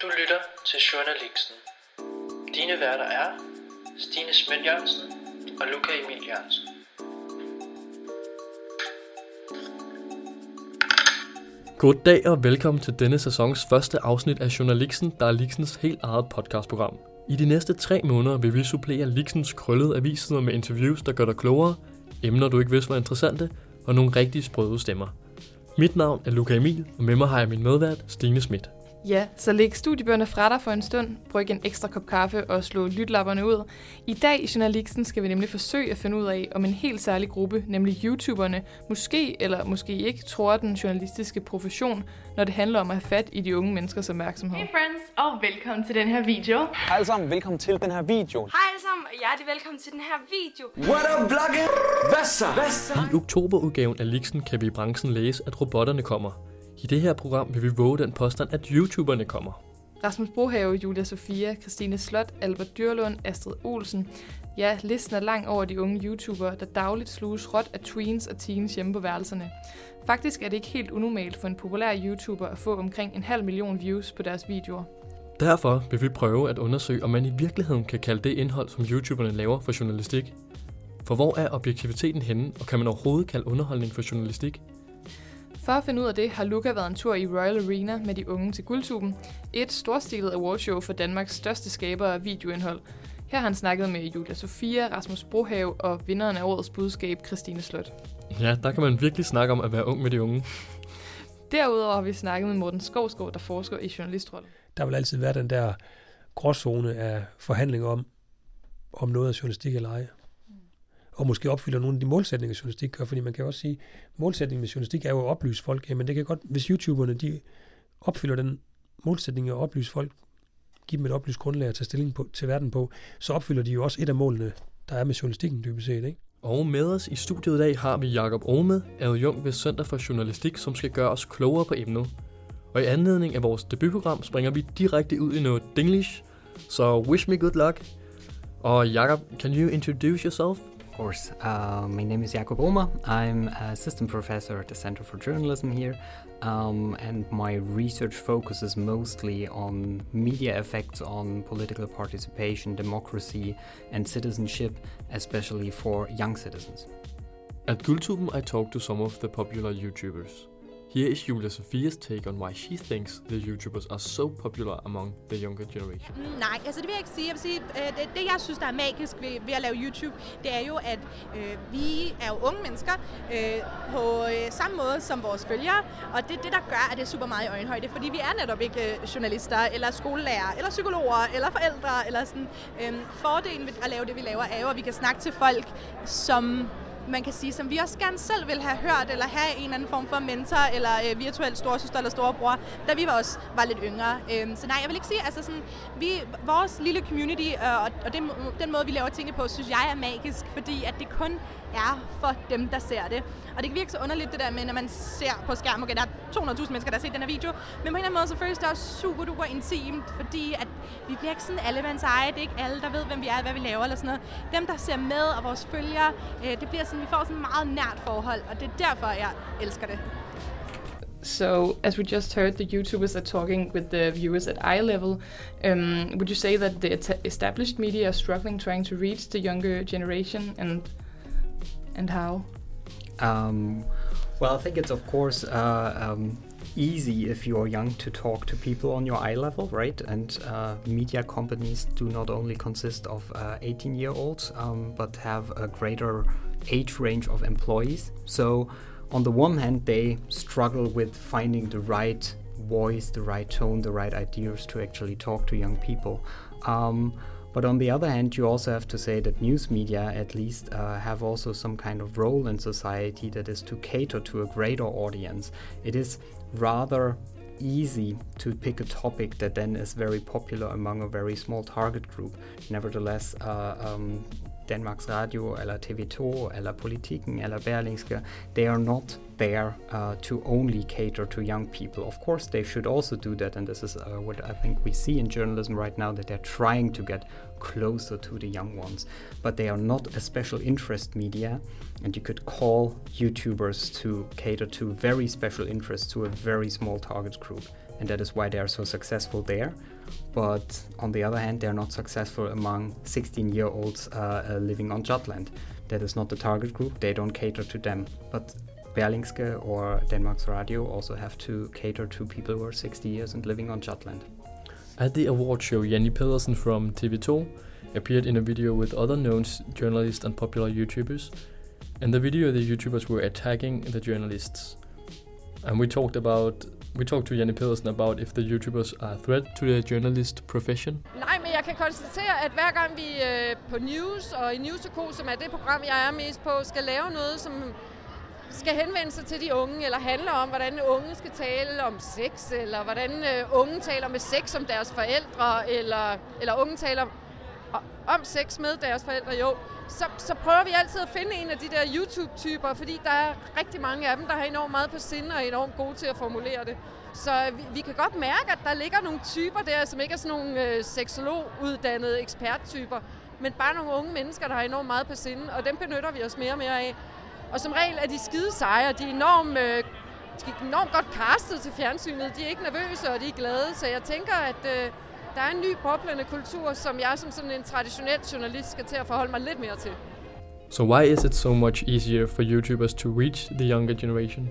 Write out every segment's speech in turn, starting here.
Du lytter til Journalisten. Dine værter er Stine Schmidt Jørgensen og Luca Emil Jørgensen. Goddag og velkommen til denne sæsons første afsnit af Journalisten, der er Lixens helt eget podcastprogram. I de næste 3 måneder vil vi supplere Lixens krøllede avissider med interviews, der gør dig klogere, emner du ikke vidste var interessante, og nogle rigtig sprøde stemmer. Mit navn er Luca Emil, og med mig har jeg min medvært, Stine Schmidt. Ja, så læg studiebøgerne fra dig for en stund, bryg en ekstra kop kaffe og slå lytlapperne ud. I dag i Journalisten skal vi nemlig forsøge at finde ud af, om en helt særlig gruppe, nemlig YouTuberne, måske eller måske ikke tror den journalistiske profession, når det handler om at have fat i de unge menneskers opmærksomhed. Hey friends, og velkommen til den her video. Hej alle sammen, velkommen til den her video. Hej alle sammen, og hjertelig velkommen til den her video. What up, vloggen? Hvad så? I oktoberudgaven af Lixen kan vi i branchen læse, at robotterne kommer. I det her program vil vi våge den påstand, at YouTuberne kommer. Rasmus Brohave, Julia Sofia, Christine Slot, Albert Dyrlund, Astrid Olsen. Ja, listen er lang over de unge YouTubere, der dagligt sluges råt af tweens og teens hjemme på værelserne. Faktisk er det ikke helt unormalt for en populær YouTuber at få omkring 500.000 views på deres videoer. Derfor vil vi prøve at undersøge, om man i virkeligheden kan kalde det indhold, som YouTuberne laver for journalistik. For hvor er objektiviteten henne, og kan man overhovedet kalde underholdning for journalistik? For at finde ud af det, har Luca været en tur i Royal Arena med de unge til Guldtuben, et storstilet awardshow for Danmarks største skabere af videoindhold. Her har han snakket med Julia Sofia, Rasmus Brohave og vinderen af årets budskab, Christine Slot. Ja, der kan man virkelig snakke om at være ung med de unge. Derudover har vi snakket med Morten Skovsgaard, der forsker i journalistrollen. Der vil altid være den der gråzone af forhandlinger om noget af journalistik eller ej. Og måske opfylder nogle af de målsætninger, journalistik gør, fordi man kan også sige, at målsætningen med journalistik er jo at oplyse folk. Jamen det kan godt, hvis YouTuberne de opfylder den målsætning at oplyse folk, give dem et oplyst grundlag at tage stilling til verden på, så opfylder de jo også et af målene, der er med journalistikken dybest set, ikke? Og med os i studiet i dag har vi Jakob Ohme, adjunkt ved Center for Journalistik, som skal gøre os klogere på emnet. Og i anledning af vores debutprogram springer vi direkte ud i noget Dinglish, så wish me good luck. Og Jakob, can you introduce yourself? Of course. My name is Jakob Ohme. I'm an assistant professor at the Center for Journalism here, and my research focuses mostly on media effects on political participation, democracy, and citizenship, especially for young citizens. At Guldtuben, I talked to some of the popular YouTubers. Here is Julia Sofia's take on why she thinks the YouTubers are so popular among the younger generation. Nej, altså det vil jeg ikke sige. Jeg vil sige, det jeg synes, der er magisk ved at lave YouTube, det er jo, at vi er jo unge mennesker på samme måde som vores følgere, og det er det, der gør, at det er super meget i øjenhøjde, fordi vi er netop ikke journalister, eller skolelærer, eller psykologer, eller forældre, eller sådan. Fordelen ved at lave det, vi laver, er jo, at vi kan snakke til folk, som man kan sige, som vi også gerne selv vil have hørt, eller have en eller anden form for mentor, eller virtuel storesøster eller storebror, da vi også var lidt yngre. Så nej, jeg vil ikke sige, altså sådan, vores lille community, og den måde, vi laver tingene på, synes jeg er magisk, fordi at det kun er for dem, der ser det. Og det kan virke så underligt, det der med, når man ser på skærm, okay, der er 200.000 mennesker, der har set den her video, men på en eller anden måde, så føles det også super duper intimt, fordi at vi bliver ikke sådan allemands eje, det er ikke alle, der ved, hvem vi er, hvad vi laver, eller sådan noget. Dem, der ser med, og vores følgere, det bliver sådan, vi får sådan et meget nært forhold, og det er derfor, jeg elsker det. So, as we just heard, the YouTubers are talking with the viewers at eye level. Would you say that the established media are struggling trying to reach the younger generation, and how? Well, I think it's of course easy if you're young to talk to people on your eye level, right? And media companies do not only consist of 18-year-olds, but have a greater age range of employees. So on the one hand, they struggle with finding the right voice, the right tone, the right ideas to actually talk to young people. But on the other hand, you also have to say that news media, at least, have also some kind of role in society that is to cater to a greater audience. It is rather easy to pick a topic that then is very popular among a very small target group. Nevertheless, Danmarks Radio, eller TV2, eller Politiken, eller Berlingske, they are not there to only cater to young people. Of course, they should also do that, and this is what I think we see in journalism right now, that they're trying to get closer to the young ones. But they are not a special interest media, and you could call YouTubers to cater to very special interests to a very small target group. And that is why they are so successful there. But on the other hand, they're not successful among 16-year-olds living on Jutland. That is not the target group. They don't cater to them. But Berlingske or Danmarks Radio also have to cater to people who are 60 years and living on Jutland. At the award show, Janni Pedersen from TV2 appeared in a video with other known journalists and popular YouTubers. In the video, the YouTubers were attacking the journalists. And we talked to Janni Pedersen about if the YouTubers are a threat to the journalist profession. Nej, men jeg kan konstatere, at hver gang vi på News og i News & Co, som er det program, jeg er mest på, skal lave noget, som skal henvende sig til de unge, eller handle om, hvordan unge skal tale om sex, eller hvordan unge taler med sex om deres forældre, eller unge taler om sex med deres forældre, så prøver vi altid at finde en af de der YouTube-typer, fordi der er rigtig mange af dem, der har enormt meget på sinde og er enormt gode til at formulere det. Så vi kan godt mærke, at der ligger nogle typer der, som ikke er sådan nogle seksologuddannede eksperttyper, men bare nogle unge mennesker, der har enormt meget på sinde, og dem benytter vi os mere og mere af. Og som regel er de skide seje, de er enormt godt castet til fjernsynet, de er ikke nervøse, og de er glade, så jeg tænker, at der er en ny boblende kultur, som jeg som sådan en traditionel journalist skal til at forholde mig lidt mere til. So why is it so much easier for YouTubers to reach the younger generation?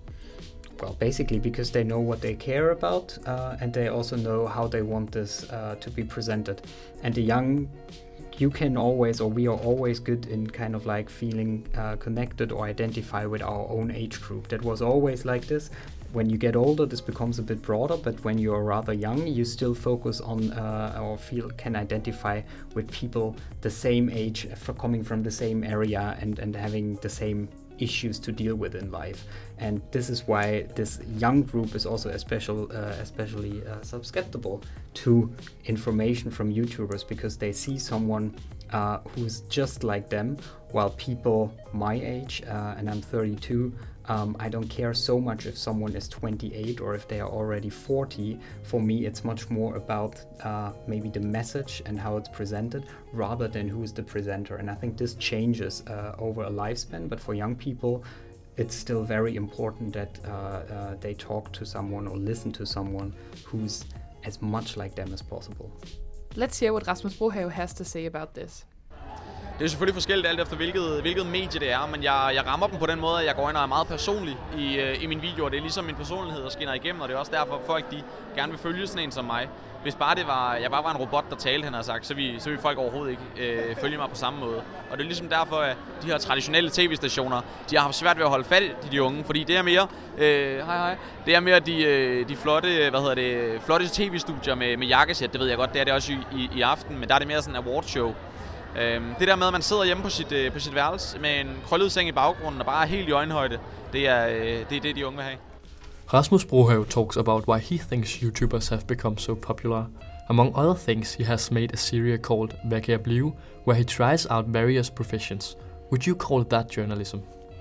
Well, basically because they know what they care about, and they also know how they want this to be presented. And the young, you can always, or we are always good in kind of like feeling connected or identify with our own age group. That was always like this. When you get older, this becomes a bit broader, but when you're rather young, you still focus on or can identify with people the same age, coming from the same area and having the same issues to deal with in life. And this is why this young group is also especially susceptible to information from YouTubers, because they see someone who's just like them, while people my age, and I'm 32, I don't care so much if someone is 28 or if they are already 40. For me, it's much more about maybe the message and how it's presented rather than who is the presenter. And I think this changes over a lifespan, but for young people, it's still very important that they talk to someone or listen to someone who's as much like them as possible. Let's hear what Rasmus Brohave has to say about this. Det er selvfølgelig forskelligt alt efter hvilket medie det er, men jeg rammer dem på den måde, at jeg går ind og er meget personlig i mine videoer. Det er ligesom min personlighed, der skinner igennem, og det er også derfor, folk de gerne vil følge sådan en som mig. Hvis bare jeg bare var en robot, der talte, han har sagt, så vil folk overhovedet ikke følge mig på samme måde. Og det er ligesom derfor, at de her traditionelle tv-stationer, de har haft svært ved at holde fat i de unge, fordi det er mere, det er mere de flotte, flotte tv-studier med jakkesæt, det ved jeg godt, det er det også i aften, men der er det mere sådan en awardshow. Det der med, at man sidder hjemme på sit værelse med en krøllet seng i baggrunden og bare er helt i øjenhøjde, det er det, de unge vil have. Rasmus Brohave talks about why he thinks YouTubers have become so popular. Among other things, he has made a series called Hvad kan jeg blive, where he tries out various professions. Would you call that journalism?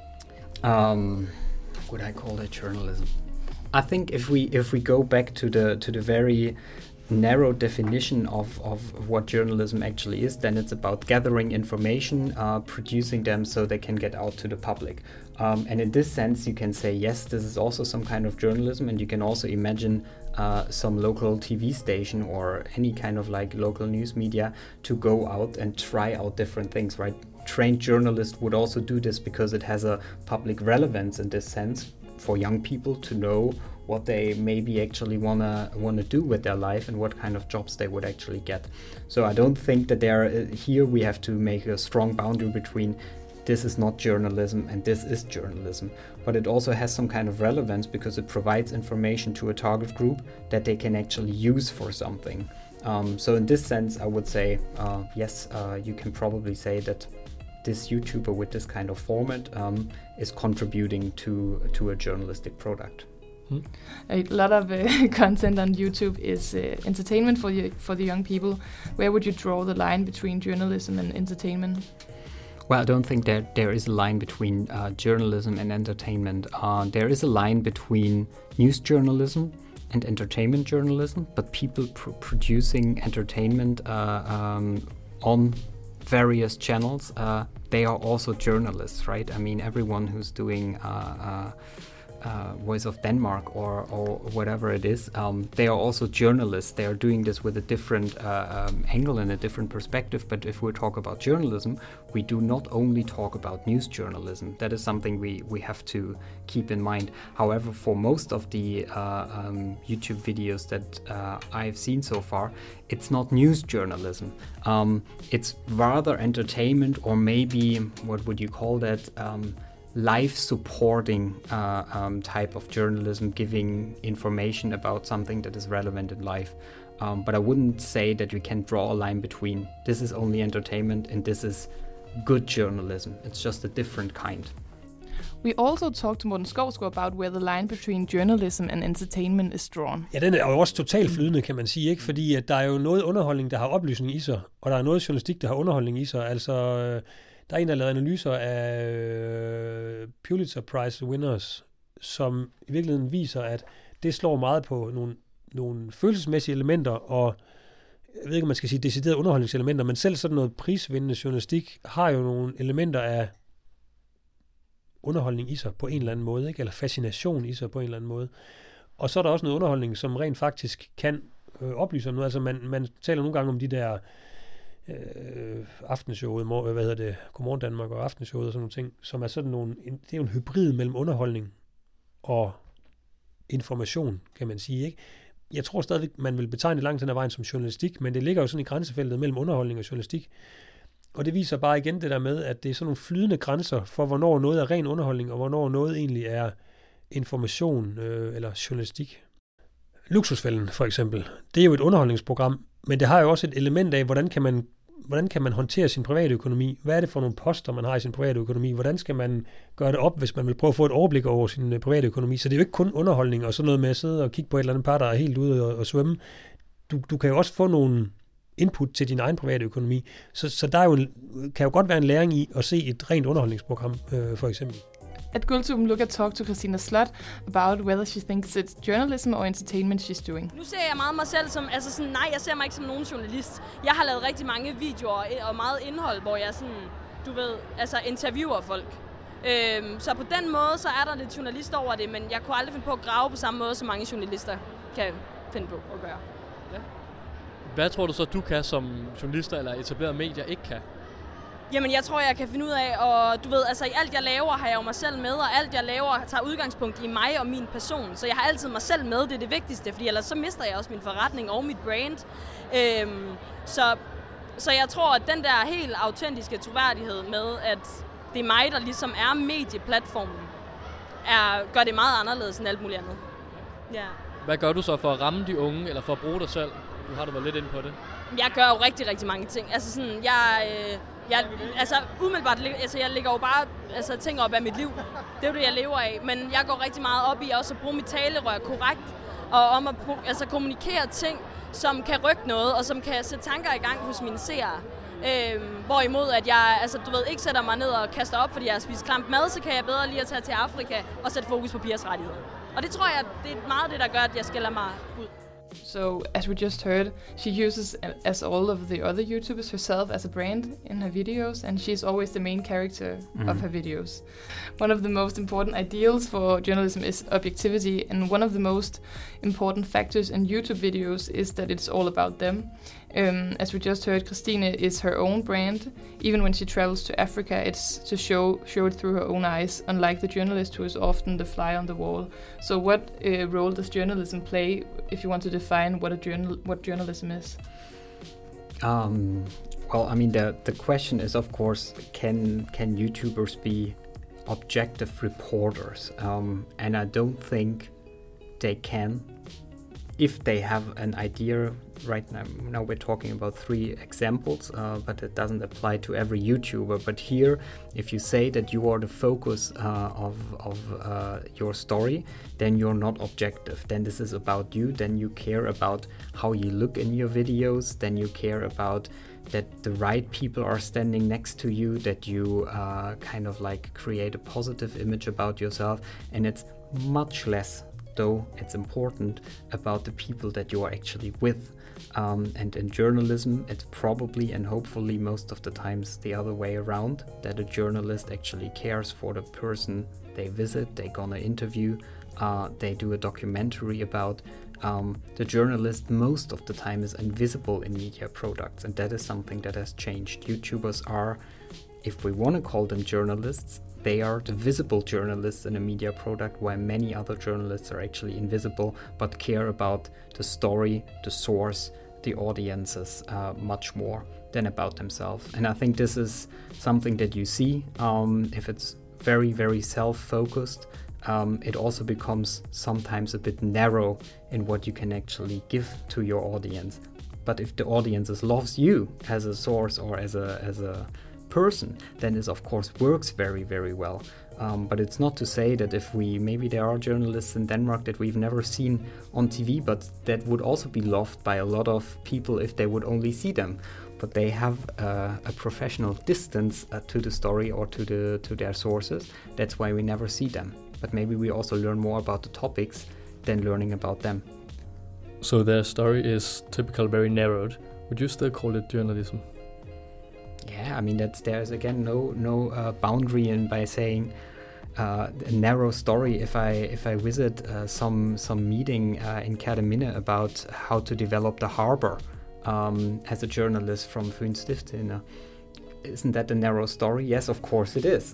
Would I call that journalism? I think if we go back to the very narrow definition of what journalism actually is, then it's about gathering information, producing them so they can get out to the public. And in this sense, you can say, yes, this is also some kind of journalism, and you can also imagine some local TV station or any kind of like local news media to go out and try out different things, right? Trained journalists would also do this because it has a public relevance in this sense for young people to know what they maybe actually wanna do with their life and what kind of jobs they would actually get. So I don't think that here we have to make a strong boundary between this is not journalism and this is journalism. But it also has some kind of relevance because it provides information to a target group that they can actually use for something. So in this sense, I would say, yes, you can probably say that this YouTuber with this kind of format is contributing to a journalistic product. A lot of content on YouTube is entertainment for the young people. Where would you draw the line between journalism and entertainment? Well, I don't think that there is a line between journalism and entertainment. There is a line between news journalism and entertainment journalism, but people producing entertainment on various channels, they are also journalists, right? I mean, everyone who's doing Voice of Denmark or whatever it is, they are also journalists. They are doing this with a different angle and a different perspective. But if we talk about journalism, we do not only talk about news journalism. That is something we have to keep in mind. However, for most of the YouTube videos that I've seen so far, it's not news journalism. It's rather entertainment, or maybe, what would you call that? Life supporting type of journalism, giving information about something that is relevant in life. But I wouldn't say that we can draw a line between this is only entertainment and this is good journalism. It's just a different kind. We also talked to Morten Skovsgaard about where the line between journalism and entertainment is drawn. Ja, den er jo også totalt flydende, kan man sige, ikke? Fordi at der er jo noget underholdning, der har oplysning i sig, og der er noget journalistik, der har underholdning i sig. Altså, der er en, der har lavet analyser af Pulitzer Prize winners, som i virkeligheden viser, at det slår meget på nogle følelsesmæssige elementer, og jeg ved ikke, om man skal sige deciderede underholdningselementer, men selv sådan noget prisvindende journalistik har jo nogle elementer af underholdning i sig på en eller anden måde, ikke? Eller fascination i sig på en eller anden måde. Og så er der også noget underholdning, som rent faktisk kan oplyse om noget. Altså man taler nogle gange om de der aftenshowet, Godmorgen Danmark og aftenshowet og sådan nogle ting, som er sådan nogle, det er jo en hybrid mellem underholdning og information, kan man sige, ikke? Jeg tror stadigvæk, man vil betegne langt hen ad vejen som journalistik, men det ligger jo sådan i grænsefeltet mellem underholdning og journalistik. Og det viser bare igen det der med, at det er sådan nogle flydende grænser for, hvornår noget er ren underholdning, og hvornår noget egentlig er information eller journalistik. Luksusfælden for eksempel, det er jo et underholdningsprogram, men det har jo også et element af, hvordan kan man håndtere sin private økonomi? Hvad er det for nogle poster, man har i sin private økonomi? Hvordan skal man gøre det op, hvis man vil prøve at få et overblik over sin private økonomi? Så det er jo ikke kun underholdning og sådan noget med at sidde og kigge på et eller andet par, der er helt ude og svømme. Du kan jo også få nogle input til din egen private økonomi. Så der er jo kan jo godt være en læring i at se et rent underholdningsprogram, for eksempel. At Guldtuben Luca talk to Christina Slot about whether she thinks it's journalism or entertainment she's doing. Nu ser jeg meget mig selv som, altså sådan, nej, jeg ser mig ikke som nogen journalist. Jeg har lavet rigtig mange videoer og meget indhold, hvor jeg sådan, du ved, altså interviewer folk. Så på den måde, så er der lidt journalist over det, men jeg kunne aldrig finde på at grave på samme måde, som mange journalister kan finde på at gøre. Ja. Hvad tror du så, du kan, som journalister eller etablerede medier ikke kan? Jamen, jeg tror, jeg kan finde ud af, og du ved, altså i alt jeg laver, har jeg jo mig selv med, og alt jeg laver tager udgangspunkt i mig og min person. Så jeg har altid mig selv med, det er det vigtigste, fordi ellers så mister jeg også min forretning og mit brand. Så jeg tror, at den der helt autentiske troværdighed med, at det er mig, der ligesom er medieplatformen, gør det meget anderledes end alt muligt andet. Ja. Hvad gør du så for at ramme de unge, eller for at bruge dig selv? Du har været lidt inde på det. Jeg gør jo rigtig, rigtig mange ting. Altså sådan, umiddelbart, altså jeg lægger jo bare ting op af mit liv. Det er jo det, jeg lever af. Men jeg går rigtig meget op i også at bruge mit talerør korrekt, og om at kommunikere ting, som kan rykke noget, og som kan sætte tanker i gang hos mine seere. Hvorimod at jeg ikke sætter mig ned og kaster op, fordi jeg har spist klamt mad, så kan jeg bedre lige at tage til Afrika og sætte fokus på pigers rettigheder. Og det tror jeg, det er meget det, der gør, at jeg skiller mig ud. So, as we just heard, she uses, as all of the other YouTubers, herself as a brand in her videos, and she's always the main character of her videos. One of the most important ideals for journalism is objectivity, and one of the most important factors in YouTube videos is that it's all about them. As we just heard, Christine is her own brand. Even when she travels to Africa, it's to show it through her own eyes, unlike the journalist who is often the fly on the wall. So what role does journalism play if you want to define what journalism is? Well, I mean, the question is, of course, can YouTubers be objective reporters? And I don't think they can. If they have an idea, right now we're talking about 3 examples, but it doesn't apply to every YouTuber. But here, if you say that you are the focus of your story, then you're not objective. Then this is about you. Then you care about how you look in your videos. Then you care about that the right people are standing next to you, that you kind of like create a positive image about yourself. And it's much less, though it's important, about the people that you are actually with. And in journalism, it's probably and hopefully most of the times the other way around, that a journalist actually cares for the person they visit, they're gonna interview, they do a documentary about. The journalist most of the time is invisible in media products, and that is something that has changed. YouTubers are, if we want to call them journalists, they are the visible journalists in a media product, while many other journalists are actually invisible but care about the story, the source, the audiences much more than about themselves. And I think this is something that you see if it's very, very self-focused. It also becomes sometimes a bit narrow in what you can actually give to your audience. But if the audience loves you as a source or as a person, then this of course works very, very well. But it's not to say that maybe there are journalists in Denmark that we've never seen on TV, but that would also be loved by a lot of people if they would only see them. But they have a professional distance to the story or to their sources. That's why we never see them. But maybe we also learn more about the topics than learning about them. So their story is typically very narrowed. Would you still call it journalism? Yeah, I mean there's again no boundary in by saying a narrow story. If I visit some meeting in Kerteminde about how to develop the harbor as a journalist from Fyns Stiftstidende, isn't that a narrow story? Yes, of course it is.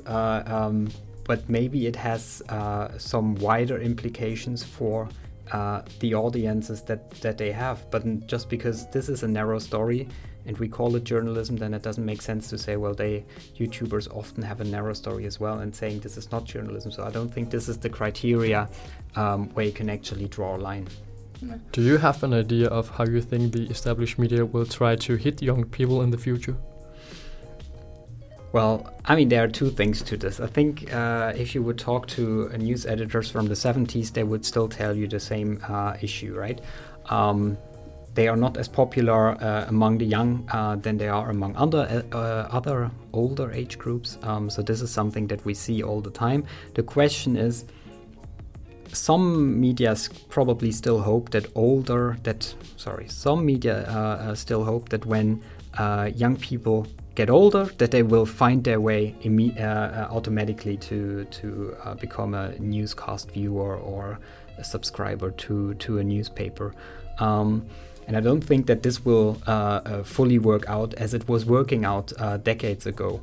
But maybe it has some wider implications for the audiences that they have. But just because this is a narrow story and we call it journalism, then it doesn't make sense to say, well, YouTubers often have a narrow story as well, and saying this is not journalism. So I don't think this is the criteria where you can actually draw a line. Do you have an idea of how you think the established media will try to hit young people in the future? Well, I mean, there are two things to this. I think if you would talk to news editors from the 70s, they would still tell you the same issue, right? They are not as popular among the young than they are among other older age groups. So this is something that we see all the time. The question is, some media probably still hope that still hope that when young people get older, that they will find their way automatically to become a newscast viewer or a subscriber to a newspaper. And I don't think that this will fully work out as it was working out decades ago.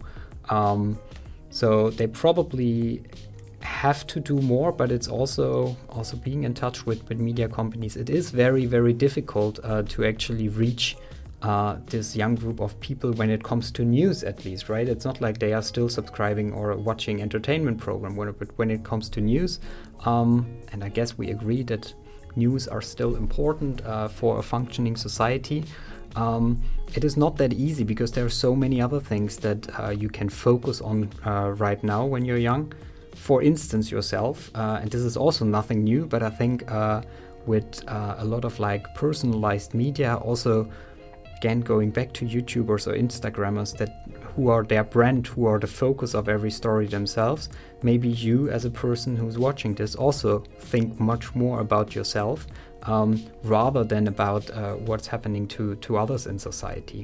So they probably have to do more, but it's also being in touch with media companies. It is very, very difficult to actually reach this young group of people when it comes to news, at least, right? It's not like they are still subscribing or watching entertainment program, but when it comes to news, and I guess we agree that news are still important for a functioning society. It is not that easy because there are so many other things that you can focus on right now when you're young. For instance, yourself, and this is also nothing new, but I think with a lot of like personalized media, also again going back to YouTubers or Instagrammers who are their brand, who are the focus of every story themselves, maybe you as a person who's watching this also think much more about yourself rather than about what's happening to others in society.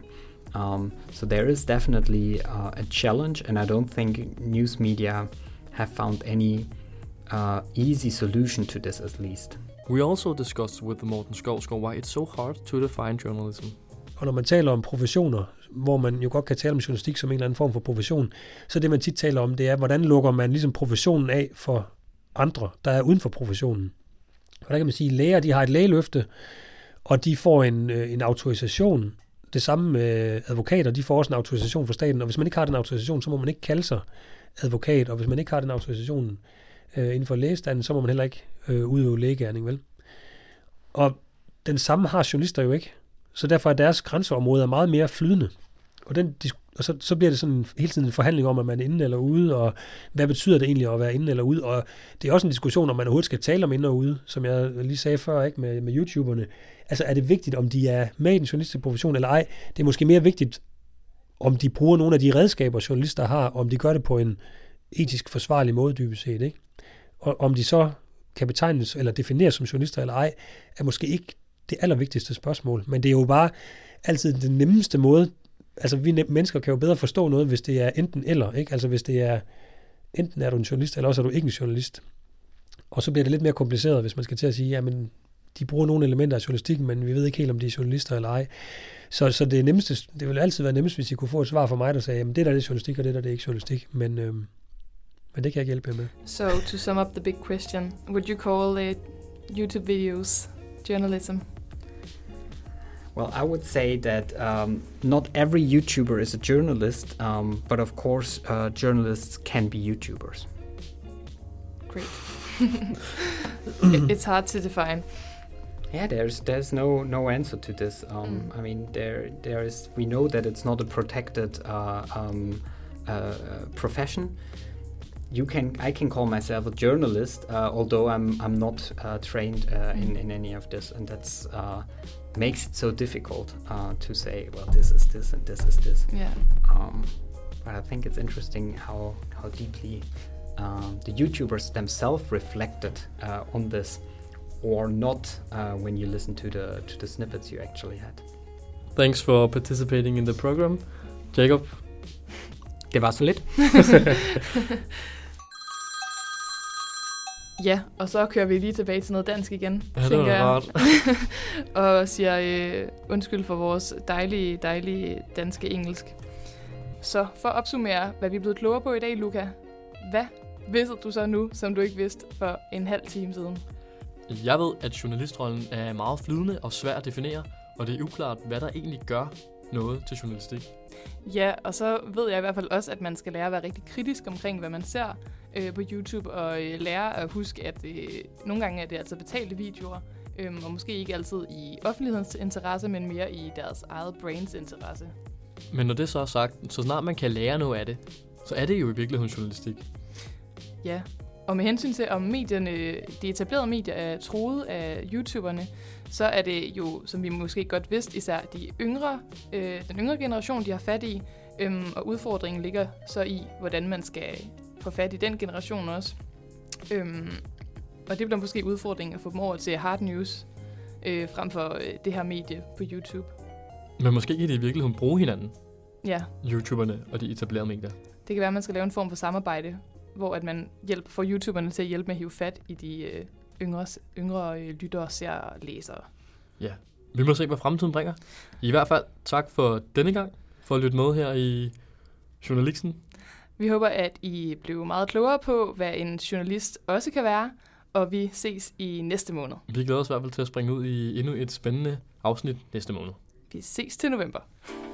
So there is definitely a challenge, and I don't think news media have found any easy solution to this, at least. We also discussed with Morten Skovsgaard why it's so hard to define journalism. Og når man taler om professioner, hvor man jo godt kan tale om journalistik som en eller anden form for profession, så det man tit taler om, det er, hvordan lukker man ligesom professionen af for andre, der er uden for professionen. Og der kan man sige, at læger, de har et lægeløfte, og de får en autorisation. Det samme med advokater, de får også en autorisation fra staten, og hvis man ikke har den autorisation, så må man ikke kalde sig advokat, og hvis man ikke har den autorisation inden for lægestanden, så må man heller ikke udøve lægegerning, vel? Og den samme har journalister jo ikke. Så derfor er deres grænseområder meget mere flydende. Og så bliver det sådan hele tiden en forhandling om, at man er inde eller ude, og hvad betyder det egentlig at være inde eller ude? Og det er også en diskussion, om man overhovedet skal tale om inde og ude, som jeg lige sagde før, ikke med YouTuberne. Altså er det vigtigt, om de er med i den journalistiske profession eller ej? Det er måske mere vigtigt, om de bruger nogle af de redskaber, journalister har, om de gør det på en etisk forsvarlig måde, dybest set, ikke? Og om de så kan betegnes eller defineres som journalister eller ej, er måske ikke det allervigtigste spørgsmål. Men det er jo bare altid den nemmeste måde. Altså, vi mennesker kan jo bedre forstå noget, hvis det er enten eller, ikke? Altså, hvis det er, enten er du en journalist, eller også er du ikke en journalist. Og så bliver det lidt mere kompliceret, hvis man skal til at sige, jamen, de bruger nogle elementer af journalistikken, men vi ved ikke helt, om de er journalister eller ej. Så det nemmeste, det ville altid være nemmest, hvis I kunne få et svar fra mig, der sagde, jamen, det der er journalistik, og det der det er ikke journalistik. Men det kan jeg ikke hjælpe jer med. So, to sum up the big question, would you call YouTube videos journalism? Well, I would say that not every YouTuber is a journalist, but of course, journalists can be YouTubers. Great. It's hard to define. Yeah, there's no answer to this. I mean, there is. We know that it's not a protected profession. I can call myself a journalist, although I'm not trained in any of this, and that's makes it so difficult to say, well, this is this and this is this. Yeah. But I think it's interesting how deeply the YouTubers themselves reflected on this, or not when you listen to the snippets you actually had. Thanks for participating in the program, Jacob. Det var så lidt. Ja, og så kører vi lige tilbage til noget dansk igen, ja, tænker jeg. Og siger undskyld for vores dejlige danske engelsk. Så for at opsummere, hvad vi er blevet klogere på i dag, Luca. Hvad vidste du så nu, som du ikke vidste for en halv time siden? Jeg ved, at journalistrollen er meget flydende og svær at definere, og det er uklart, hvad der egentlig gør noget til journalistik. Ja, og så ved jeg i hvert fald også, at man skal lære at være rigtig kritisk omkring, hvad man ser på YouTube, og lære at huske, at nogle gange er det altså betalte videoer, og måske ikke altid i offentlighedens interesse, men mere i deres eget brains interesse. Men når det så er sagt, så snart man kan lære noget af det, så er det jo i virkeligheden journalistik. Ja, og med hensyn til, om medierne, de etablerede medier er truet af YouTuberne, så er det jo, som vi måske godt vidste, især den yngre generation, de har fat i, og udfordringen ligger så i, hvordan man skal få fat i den generation også. Og det bliver måske udfordringen at få dem over til hard news, frem for det her medie på YouTube. Men måske kan de i virkeligheden bruge hinanden, ja. YouTuberne og de etablerede medier. Det kan være, at man skal lave en form for samarbejde, hvor at man får YouTuberne til at hjælpe med at hive fat i de yngre lyttere, seere og læsere. Ja, vi må se, hvad fremtiden bringer. I hvert fald tak for denne gang, for at lytte med her i Journalisten. Vi håber, at I blev meget klogere på, hvad en journalist også kan være, og vi ses i næste måned. Vi glæder os i hvert fald til at springe ud i endnu et spændende afsnit næste måned. Vi ses til november.